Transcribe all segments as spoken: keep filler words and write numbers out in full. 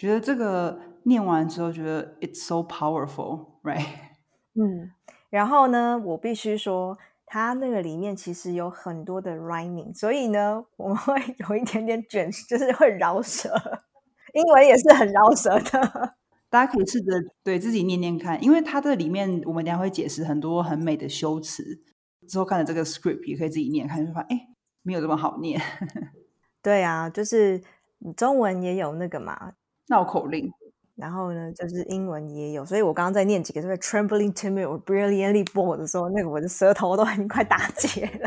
觉得这个念完之后觉得 it's so powerful, right? 嗯，然后呢，我必须说它那个里面其实有很多的 rhyming， 所以呢，我们会有一点点卷，就是会饶舌。英文也是很饶舌的。 大家可以试着对自己念念看，因为它的里面我们等一下会解释很多很美的修辞，之后看了这个 script 也可以自己念看，就发现哎，没有这么好念。 对啊，就是中文也有那个嘛， 绕口令。 然后呢，就是英文也有，所以我刚刚在念几个，就是 trembling timid or brilliantly bold 的时候，那个我的舌头都很快打结了。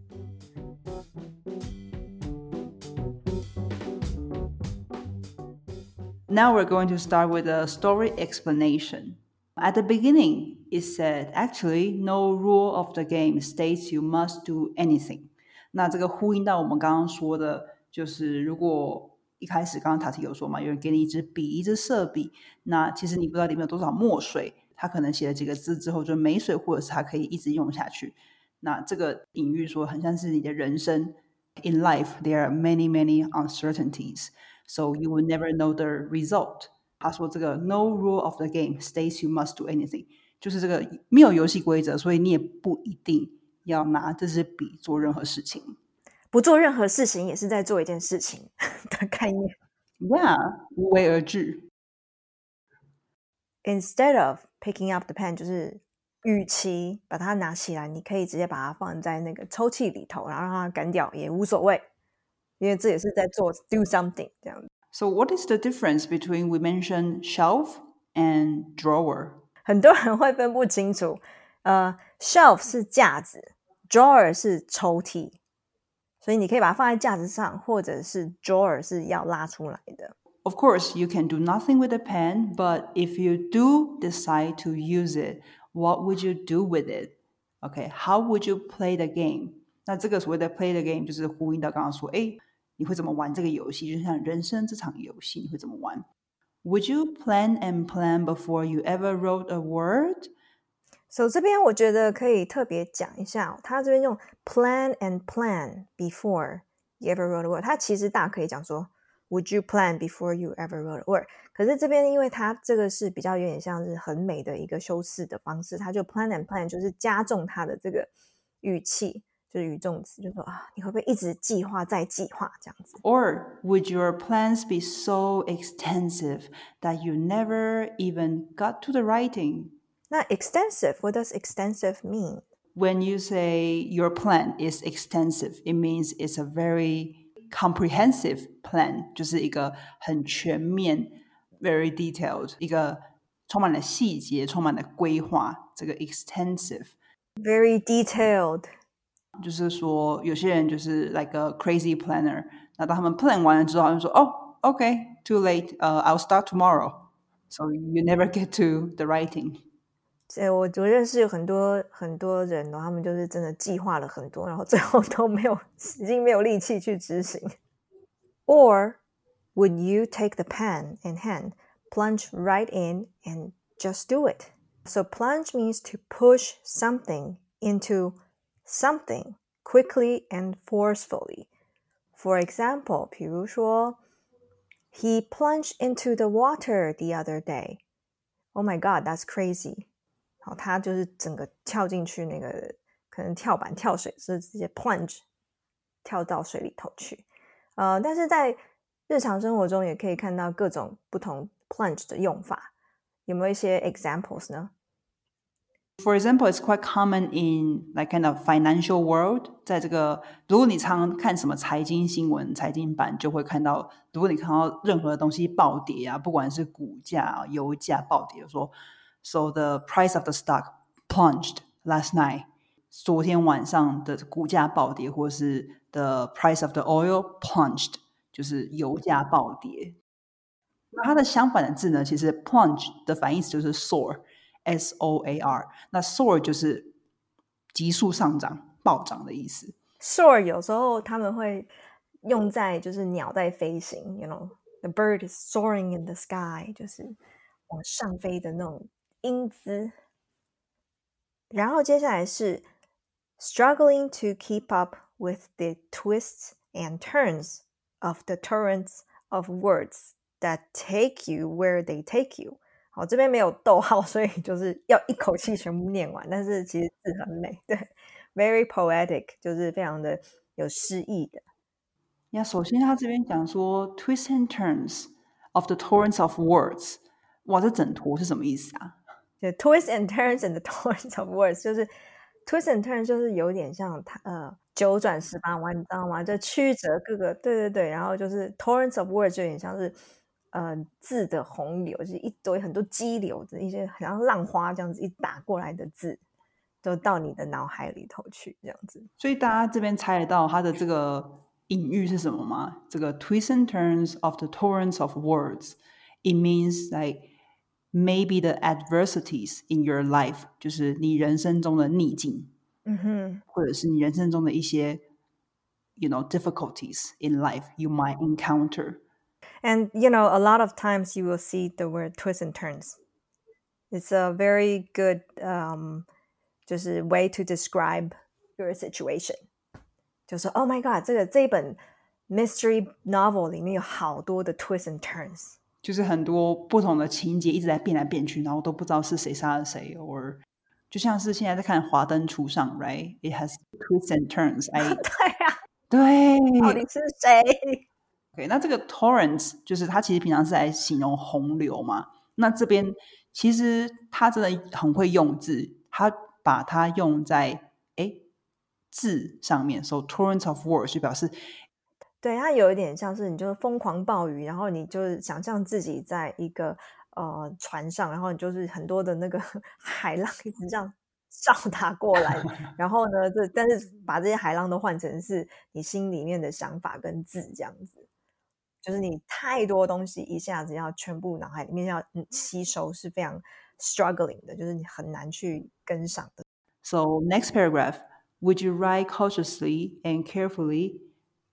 Now we're going to start with a story explanation. At the beginning, it said, actually, no rule of the game states you must do anything. 那这个呼应到我们刚刚说的，就是如果一开始刚刚塔提有说嘛，有人给你一支笔，一支色笔，那其实你不知道里面有多少墨水，他可能写了几个字之后就没水，或者是他可以一直用下去。那这个隐喻说，很像是你的人生。In life, there are many, many uncertainties. So you will never know the result. 他说这个 no rule of the game states you must do anything. 就是这个没有游戏规则，所以你也不一定要拿这支笔做任何事情。 不做任何事情也是在做一件事情的概念。 Yeah, 无为而治。 Instead of picking up the pen 就是与其把它拿起来，你可以直接把它放在那个抽屉里头，然后让它干掉也无所谓，因为这也是在做 do something 这样。 So what is the difference between we mentioned shelf and drawer? 很多人会分不清楚，呃 shelf 是架子， drawer 是抽屉，所以你可以把它放在架子上，或者是 drawer 是要拉出来的。 Of course, you can do nothing with a pen, but if you do decide to use it, what would you do with it? Okay, how would you play the game? 那这个所谓的 play the game 就是呼应到刚刚说，哎，你会怎么玩这个游戏？就像人生这场游戏，你会怎么玩？ Would you plan and plan before you ever wrote a word? So 这边我觉得可以特别讲一下，他这边用 plan and plan before you ever wrote a word， 他其实大可以讲说 Would you plan before you ever wrote a word？ 可是这边因为它这个是比较有点像是很美的一个修饰的方式，他就 plan and plan 就是加重它的这个语气，就是语重词，就说啊，你会不会一直计划再计划这样子 Or would your plans be so extensive that you never even got to the writing? 那 extensive, what does extensive mean? When you say your plan is extensive, it means it's a very comprehensive plan, 就是一个很全面 very detailed 一个充满了细节充满了规划这个 extensive Very detailed 就是说有些人就是 like a crazy planner 那当他们 plan 完了之后他就说 oh okay too late、uh, I'll start tomorrow so you never get to the writing 我我认识有很多很多人、哦、他们就是真的计划了很多，然后最后都没有已经没有力气去执行。Or would you take the pen in hand, plunge right in and just do it? So plunge means to push something into something quickly and forcefully. For example, 比如说 He plunged into the water the other day. Oh my god, that's crazy. 好，他就是整个跳进去那个可能跳板跳水是直接 plunge 跳到水里头去。呃，但是在日常生活中也可以看到各种不同 plunge 的用法，有没有一些 examples 呢？ For example, it's quite common in like kind of financial world. 在这个，如果你常看什么财经新闻、财经版，就会看到，如果你看到任何东西暴跌啊，不管是股价、油价暴跌，说 So the price of the stock plunged last night. 昨天晚上的股价暴跌，或是 the price of the oil plunged， 就是油价暴跌。那它的相反的字呢，其实 plunge 的反义词就是 soar。S O A R 那 soar 就是急速上涨暴涨的意思 Soar 有时候他们会用在就是鸟在飞行 you know the bird is soaring in the sky 就是往上飞的那种英姿。然后接下来是 struggling to keep up with the twists and turns of the torrents of words that take you where they take you。好，这边没有逗号，所以就是要一口气全部念完，但是其实字很美，对 ，very poetic， 就是非常的有诗意的。 呀，首先他这边讲说 twists and turns of the torrents of words， 哇，这整坨是什么意思啊？ 对 twists and turns and the torrents of words， 就是 twists and turns 就是有点像呃九转十八弯，你知道吗？就曲折各个，对对对，然后就是 torrents of words 就有点像是呃字的洪流，就是一堆很多激流的一些，好像浪花这样子一打过来的字，都到你的脑海里头去，这样子。 所以大家这边猜得到它的这个隐喻是什么吗？这个 twists and turns of the torrents of words, it means like maybe the adversities in your life， 就是你人生中的逆境， 嗯哼， 或者是你人生中的一些 you know difficulties in life you might encounter. And you know, a lot of times you will see the word twists and turns. It's a very good um, 就是 way to describe your situation. 就是 Oh my God， 这个这一本 mystery novel 里面有好多的 twists and turns， 就是很多不同的情节一直在变来变去，然后都不知道是谁杀了谁，or 就像是现在在看《华灯初上》 ，right? It has twists and turns. I 对啊， 对， 到底是谁？ OK，那这个 torrents 就是它其实平常是来形容洪流嘛。那这边其实它真的很会用字，它把它用在诶字上面，so torrents of words 就表示对，它有一点像是你就是疯狂暴雨，然后你就是想象自己在一个呃船上，然后你就是很多的那个海浪一直这样照打过来，然后呢，这但是把这些海浪都换成是你心里面的想法跟字这样子，就是你太多东西一下子要全部脑海里面要嗯吸收，是非常 struggling 的，就是你很难去跟上的。 So next paragraph, would you write cautiously and carefully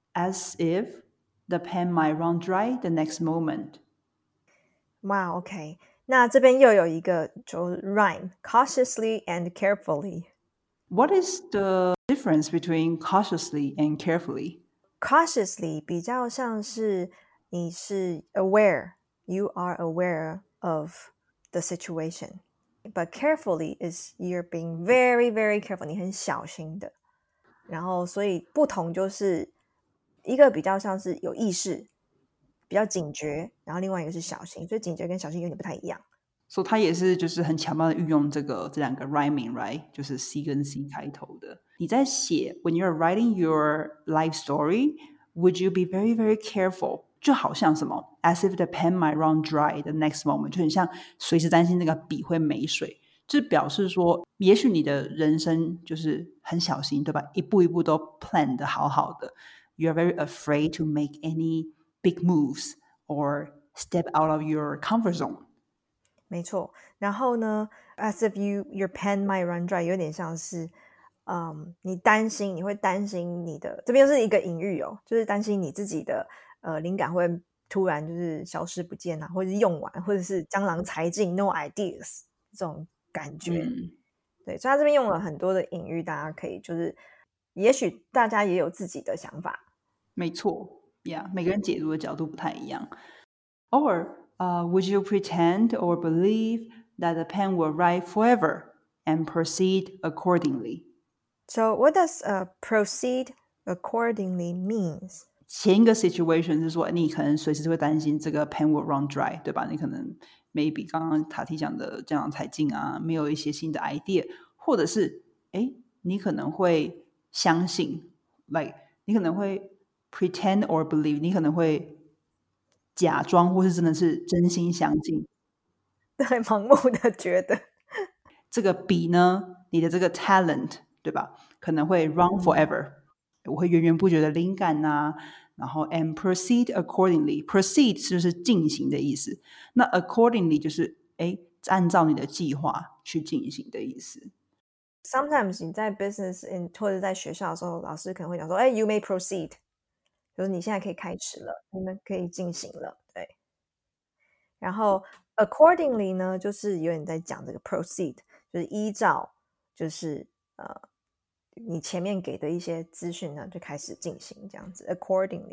as if the pen might run dry the next moment? 哇 OK， 那这边又有一个就 rhyme cautiously and carefully。 What is the difference between cautiously and carefully? cautiously 比较像是你是 aware, you are aware of the situation. But carefully is you're being very, very careful. 你很小心的。然后所以不同就是一个比较像是有意识，比较警觉，然后另外一个是小心，所以警觉跟小心有点不太一样。 所以它也是就是很巧妙的运用这个这两个 rhyming right， 就是 C 跟 C 开头的。你在写 when you're writing your life story, would you be very very careful？ 就好像什么 as if the pen might run dry the next moment， 就很像随时担心那个笔会没水，就表示说也许你的人生就是很小心，对吧？一步一步都 plan 的好好的， you're very afraid to make any big moves or step out of your comfort zone。 没错，然后呢 as if you your pen might run dry 有点像是嗯，你担心你会担心你的这边又是一个隐喻哦，就是担心你自己的呃灵感会突然就是消失不见啊，或者是用完，或者是江郎才尽 no ideas 这种感觉。 嗯， 对，所以他这边用了很多的隐喻，大家可以就是也许大家也有自己的想法。 没错，Yeah， 每个人解读的角度不太一样。Or, uh, would you pretend or believe that the pen will write forever and proceed accordingly? So what does uh, proceed accordingly means? 前一个 situation 是说，你可能随时会担心这个 pen will run dry，对吧？你可能 maybe 刚刚塔提讲的江郎才尽啊，没有一些新的 idea，或者是哎，你可能会相信 ，like 你可能会 pretend or believe，你可能会假装或是真的是真心相信对，盲目的觉得。 这个笔呢，你的这个 talent， 对吧？可能会 run forever，、嗯、我会源源不绝的灵感呐、啊，然后 and proceed accordingly，proceed 就是进行的意思，那 accordingly 就是哎按照你的计划去进行的意思。 Sometimes 你在 business in 或者在学校的时候，老师可能会讲说，哎 ，you may proceed， 就是你现在可以开始了，你们可以进行了，对。然后 accordingly 呢，就是有点在讲这个 proceed， 就是依照，就是呃你前面给的一些资讯呢，就开始进行这样子 accordingly。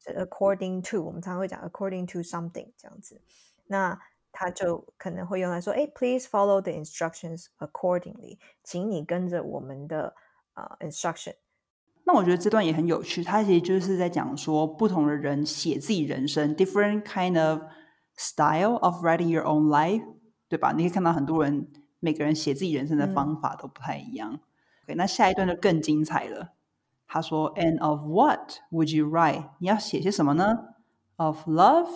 是 according to， 我们常常会讲 according to something 这样子，那他就可能会用来说，哎 ，please follow the instructions accordingly， 请你跟着我们的、呃、instruction。 那我觉得这段也很有趣，它其实就是在讲说不同的人写自己人生 different kind of style of writing your own life， 对吧？你可以看到很多人每个人写自己人生的方法都不太一样、嗯、okay, 那下一段就更精彩了。他说 And of what would you write？ 你要写些什么呢？ Of love,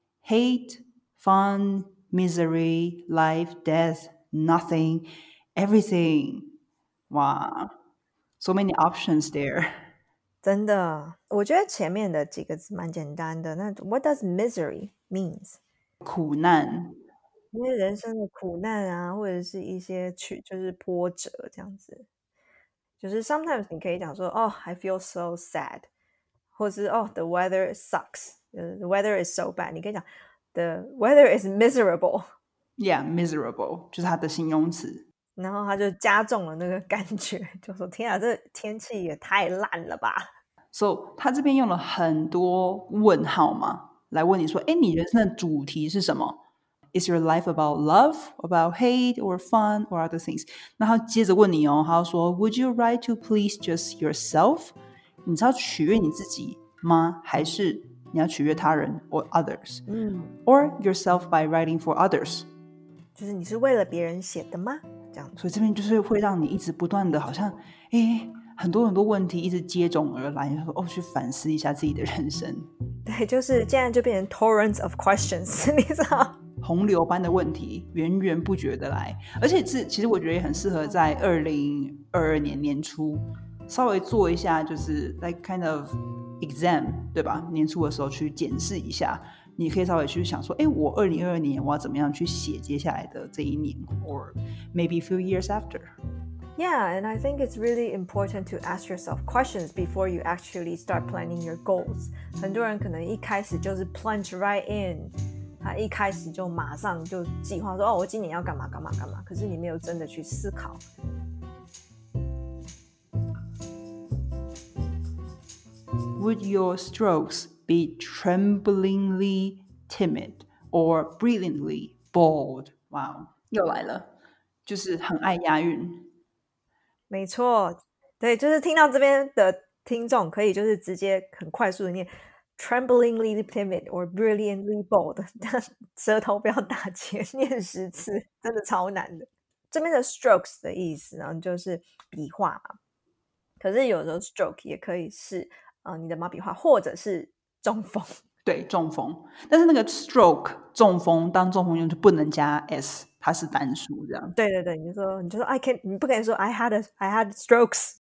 hate, fun, misery, life, death, nothing, everything。 哇So many options there。 真的，我觉得前面的几个字蛮简单的。那 What does misery means？ 苦难， 因为人生的苦难啊，或者是一些去就是波折这样子。就是 sometimes 你可以讲说哦、oh, I feel so sad， 或是哦、oh, the weather sucks， the weather is so bad， 你可以讲 the weather is miserable。 Yeah, miserable 就是它的形容词， 然后他就加重了那个感觉，就说天啊，这天气也太烂了吧。 So 他这边用了很多问号嘛，来问你说，哎，你人生的主题是什么？ Is your life about love, about hate, or fun, or other things？ 那他接着问你哦，他说 Would you write to please just yourself？ 你是要取悦你自己吗？还是你要取悦他人 or others？ 嗯 Or yourself by writing for others？ 就是你是为了别人写的吗？这样， 所以这边就是会让你一直不断的好像诶很多很多问题一直接踵而来，说哦去反思一下自己的人生。 对，就是现在就变成 torrents of questions 你知道， 洪流般的问题源源不绝的来，而且是其实我觉得也很适合在二零二二年年初稍微做一下，就是 like kind of exam， 对吧？年初的时候去检视一下，你可以稍微去想说，哎，我二零二二年我要怎么样去写接下来的这一年 or maybe a few years after。 Yeah, and I think it's really important to ask yourself questions before you actually start planning your goals. 很多人可能一开始就是 plunge right in， 他一开始就马上就计划说，哦，我今年要干嘛干嘛干嘛，可是你没有真的去思考。 Would your strokes be tremblingly timid or brilliantly bold? Wow， 又来了，就是很爱押韵。 没错，对，就是听到这边的听众可以就是直接很快速的念 tremblingly timid or brilliantly bold， 舌头不要打结，念十次真的超难的。这边的 strokes 的意思呢，就是笔画嘛，可是有时候 stroke 也可以是、呃、你的毛笔画，或者是中风。 对，中风，但是那个 stroke 中风当中风用就不能加 s， 它是单数这样。 对对对，你就说你就说 I can， 你不可以说 I had a I had strokes，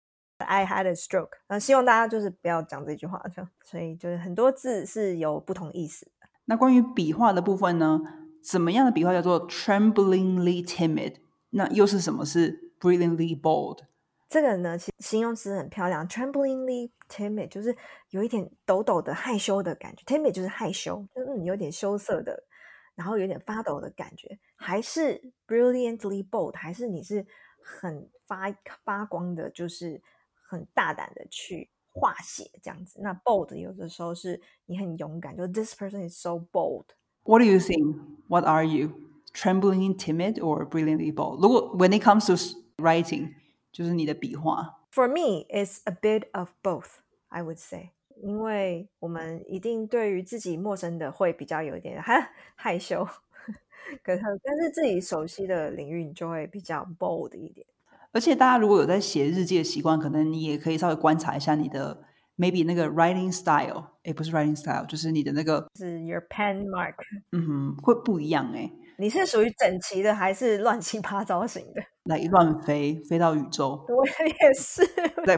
I had a stroke。那希望大家就是不要讲这句话，所以就是很多字是有不同意思的。 那关于笔画的部分呢？怎么样的笔画叫做 tremblingly timid？ 那又是什么是 brilliantly bold？ 这个呢，其实形容词很漂亮 tremblingly timid 就是有一点抖抖的害羞的感觉， timid 就是害羞，就是、嗯、有点羞涩的，然后有点发抖的感觉。还是 brilliantly bold， 还是你是很 发, 发光的，就是很大胆的去画写这样子。那 bold 有的时候是你很勇敢，就 this person is so bold。 What do you think? What are you? Trembling timid or brilliantly bold? 如果 when it comes to writing，就是你的笔画。 For me, it's a bit of both, I would say. 因为我们一定对于自己陌生的会比较有一点害害羞，可是但是自己熟悉的领域你就会比较 bold 一点。 而且大家如果有在写日记的习惯，可能你也可以稍微观察一下你的 maybe 那个 writing style， 诶不是 writing style， 就是你的那个是 your pen mark， 嗯哼，会不一样诶。 你是属于整齐的还是乱七八糟型的？ 来乱飞飞到宇宙， 我也是来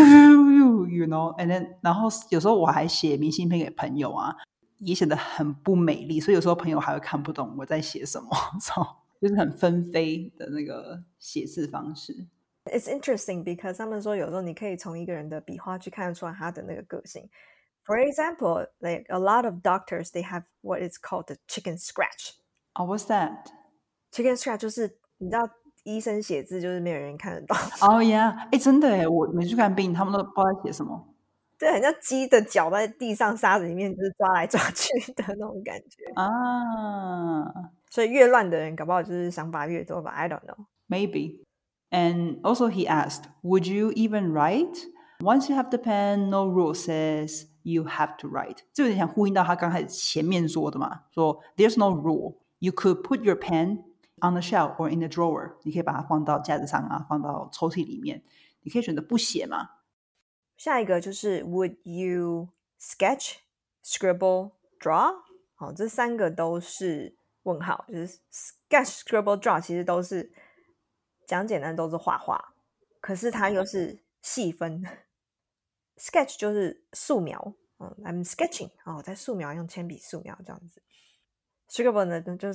you know and then 然后有时候我还写明信片给朋友啊，也写得很不美丽，所以有时候朋友还会看不懂我在写什么就是很纷飞的那个写字方式。 It's interesting because 他们说有时候你可以从一个人的笔画去看得出来他的那个个性。For example, like a lot of doctors, they have what is called the chicken scratch. Oh, what's that? Chicken scratch 就是你知道医生写字就是没有人看得到。 哦呀，哎，真的耶，我每次看病他们都不知道在写什么。 这很像鸡的脚在地上沙子里面就是抓来抓去的那种感觉啊。 所以越乱的人搞不好就是想法越多吧 I don't know Maybe. And also he asked, would you even write? Once you have the pen, no rule says you have to write. 这有点像呼应到他刚才前面说的嘛，说 there's no rule. You could put your pen on the shelf or in the drawer. 你可以把它放到架子上啊，放到抽屉里面。你可以选择不写嘛。 下一个就是 Would you sketch, scribble, draw? 好，这三个都是问号，就是 sketch, scribble, draw 其实都是讲简单都是画画，可是它又是细分。sketch 就是素描、嗯、I'm sketching 哦，我在素描，用铅笔素描这样子。scribble 呢就是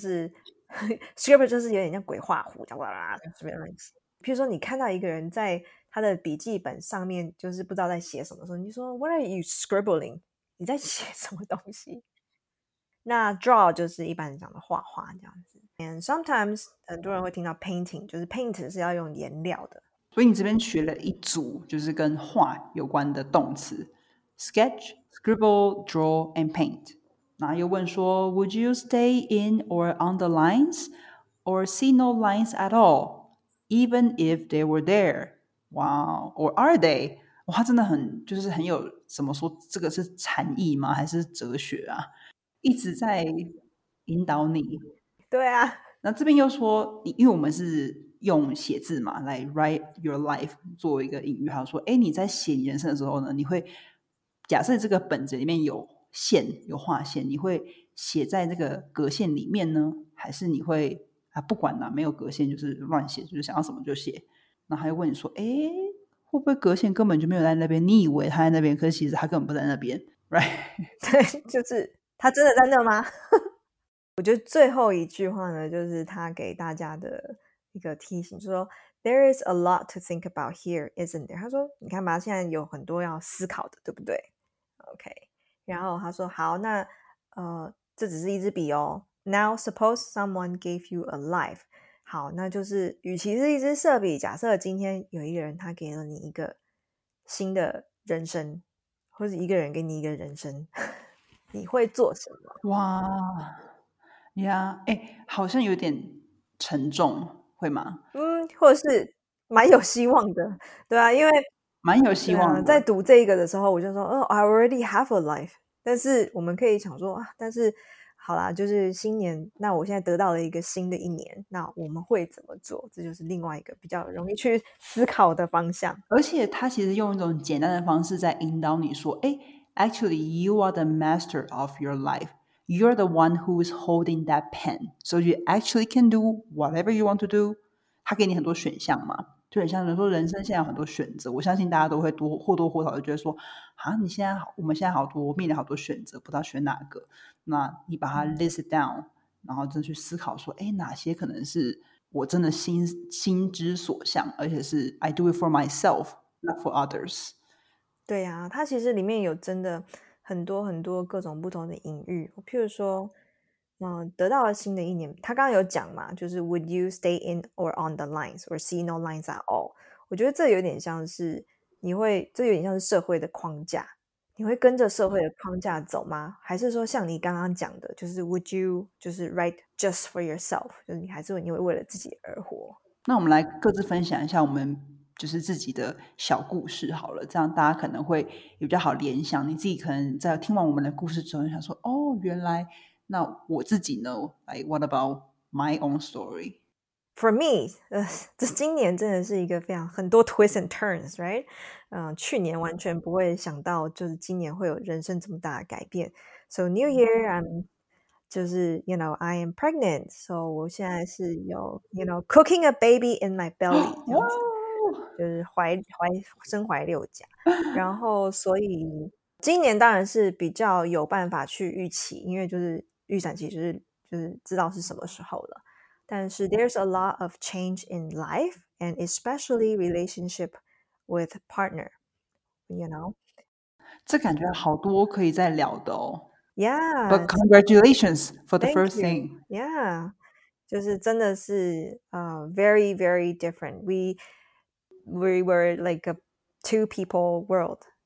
scribble 就是有点像鬼画符，哇啦随便乱写。譬如说你看到一个人在他的笔记本上面就是不知道在写什么时候，你就说 What are you scribbling？ 你在写什么东西？那 draw 就是一般人讲的画画这样子。And sometimes 很多人会听到 painting， 就是 paint 是要用颜料的。 所以你这边学了一组就是跟画有关的动词 sketch, scribble, draw, and paint。然后又问说 Would you stay in or on the lines or see no lines at all, even if they were there? Wow, or are they? 哇，他真的很就是很有怎么说，这个是禅意吗？还是哲学啊？一直在引导你。 对啊， 那这边又说，因为我们是用写字嘛，来 write your life 作为一个隐喻，他说，哎，你在写你人生的时候呢，你会假设这个本子里面有线，有画线，你会写在这个格线里面呢，还是你会啊不管啦，没有格线就是乱写，就是想要什么就写。那他又问你说，哎，会不会格线根本就没有在那边？你以为他在那边，可是其实他根本不在那边 ，right？ 对，就是他真的在那吗？我觉得最后一句话呢，就是他给大家的一个提醒，就是说 There is a lot to think about here, isn't there？ 他说，你看吧，现在有很多要思考的，对不对 ？OK， 然后他说，好，那呃，这只是一支笔哦。Now suppose someone gave you a life， 好，那就是与其是一支色笔，假设今天有一个人他给了你一个新的人生，或者一个人给你一个人生，你会做什么？ 哇呀，哎，好像有点沉重，会吗？ 嗯，或者是蛮有希望的，对啊，因为蛮有希望的。 对啊，在读这一个的时候，我就说，哦，I already have a life。但是我们可以想说啊，但是好啦，就是新年，那我现在得到了一个新的一年，那我们会怎么做？这就是另外一个比较容易去思考的方向。 而且他其实用一种简单的方式在引导你说，哎，actually you are the master of your life. You're the one who is holding that pen. So you actually can do whatever you want to do. 他给你很多选项嘛，就很像人说人生现在有很多选择。我相信大家都会多或多或少的觉得说，啊，你现在好，我们现在好多面临好多选择，不知道选哪个。那你把它 list down，然后真的去思考说，哎，哪些可能是我真的心心之所向，而且是 I do it for myself, not for others。 对呀、啊，它其实里面有真的很多很多各种不同的隐喻，譬如说，嗯，得到了新的一年，他刚刚有讲嘛，就是 Would you stay in or on the lines or see no lines at all？ 我觉得这有点像是你会，这有点像是社会的框架，你会跟着社会的框架走吗？还是说像你刚刚讲的，就是 Would you 就是 write just for yourself？ 就是你还是你会为了自己而活？ 那我们来各自分享一下我们就是自己的小故事好了，这样大家可能会也比较好联想。你自己可能在听完我们的故事之后，想说，哦，原来那我自己呢 ，like what about my own story？ For me， 呃，这今年真的是一个非常很多 twists and turns，right？ 嗯、呃，去年完全不会想到，就是今年会有人生这么大的改变。So New Year, I'm 就是 you know I am pregnant， so 我现在是有 you know cooking a baby in my belly 这样子，就是怀怀身怀六甲，然后所以今年当然是比较有办法去预期，因为就是预产期就是就是知道是什么时候了。但是 there's a lot of change in life and especially relationship with partner, you know? 这感觉好多可以再聊的哦。 Yeah, But congratulations for the thank first you. thing. Yeah. 就是真的是 uh, very, very different. We, we were like a two people world.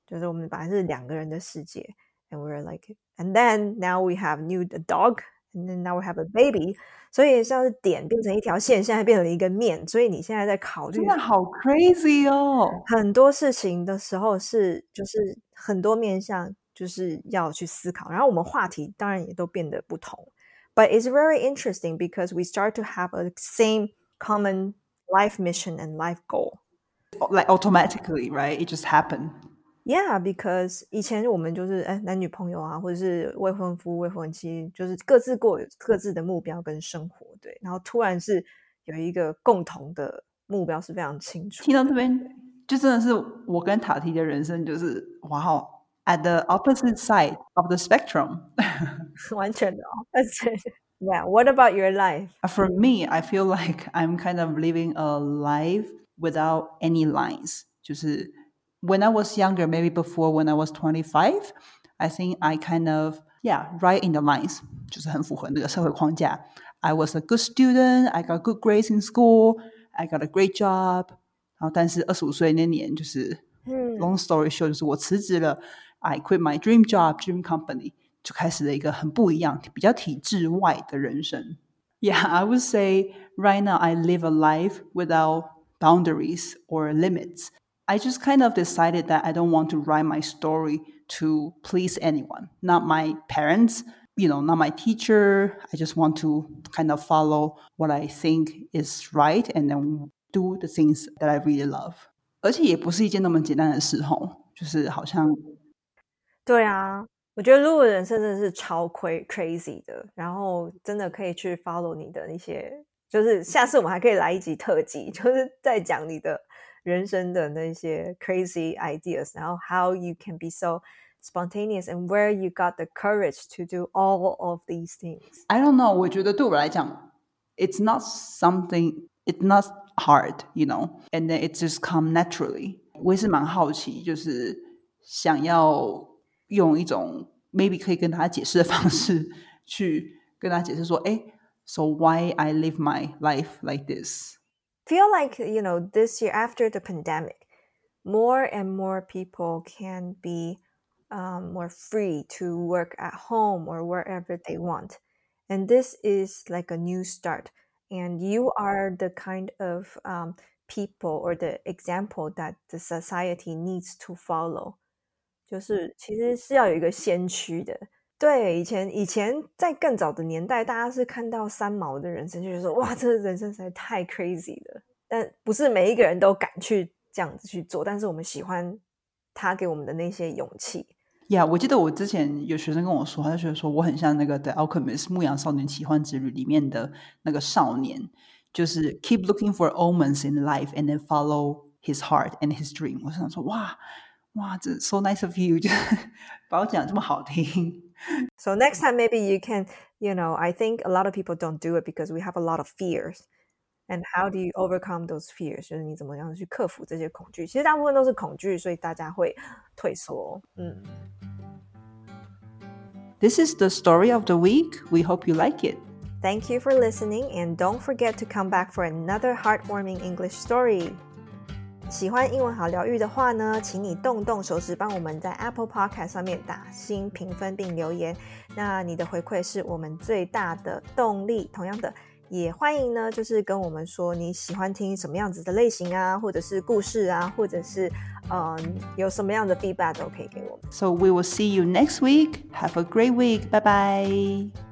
就是我们本来是两个人的世界 and we're like and then now we have new a dog and then now we have a baby 所以像是点变成一条线，现在变成一个面，所以你现在在考虑真的好 crazy 哦。 很多事情的时候是就是很多面向就是要去思考，然后我们话题当然也都变得不同 but it's very interesting because we start to have a same common life mission and life goal Like automatically, right? It just happened. Yeah, because 以前我们就是哎男女朋友啊，或者是未婚夫、未婚妻，就是各自过有各自的目标跟生活，对。然后突然是有一个共同的目标是非常清楚。 听到这边，就真的是我跟塔提的人生就是哇哦 ，at the opposite side of the spectrum. 完全的 opposite. Yeah, what about your life? For me, I feel like I'm kind of living a life without any lines. 就是 when I was younger, maybe before when I was twenty-five, I think I kind of, yeah, right in the lines. 就是很符合那个社会框架. I was a good student. I got good grades in school. I got a great job. 然后但是二十五岁那年就是、 嗯、 long story short 就是我辞职了 I quit my dream job, dream company 就开始了一个很不一样比较体制外的人生 Yeah, I would say right now I live a life without boundaries or limits. I just kind of decided that I don't want to write my story to please anyone, not my parents, you know, not my teacher. I just want to kind of follow what I think is right and then do the things that I really love. 而且也不是一件那么简单的事吼，就是好像对啊，我觉得如果人生真的是超 crazy 的，然后真的可以去 follow 你的那些，就是下次我们还可以来一集特辑，就是在讲你的人生的那些 crazy ideas，然后 how you can be so spontaneous and where you got the courage to do all of these things. I don't know, 我觉得对我来讲 it's not something, it's not hard, you know, and then it just come naturally. 我也是蛮好奇，就是想要用一种 maybe 可以跟他解释的方式去跟他解释说，哎 so why I live my life like this? Feel like, you know, this year after the pandemic, more and more people can be um, more free to work at home or wherever they want. And this is like a new start. And you are the kind of um, people or the example that the society needs to follow. 就是其实是要有一个先驱的。对，以前以前在更早的年代，大家是看到三毛的人生，就觉得说哇，这个人生实在太 crazy 了。但不是每一个人都敢去这样子去做，但是我们喜欢他给我们的那些勇气。 Yeah, 我记得我之前有学生跟我说，他就觉得说我很像那个 The Alchemist 牧羊少年奇幻之旅里面的那个少年，就是 keep looking for omens in life and then follow his heart and his dream. 我想说哇哇，这 so nice of you， 就是把我讲得这么好听。 So next time maybe you can, you know, I think a lot of people don't do it because we have a lot of fears. And how do you overcome those fears? 就是你怎么样去克服这些恐惧？其实大部分都是恐惧，所以大家会退缩。嗯。 This is the story of the week. We hope you like it. Thank you for listening, and don't forget to come back for another heartwarming English story. 喜欢英文好疗愈的话呢，请你动动手指帮我们在 Apple Podcast 上面打星评分并留言。那你的回馈是我们最大的动力。同样的，也欢迎呢，就是跟我们说你喜欢听什么样子的类型啊，或者是故事啊，或者是嗯有什么样的 feedback 都可以给我们。 So we will see you next week. Have a great week. Bye bye.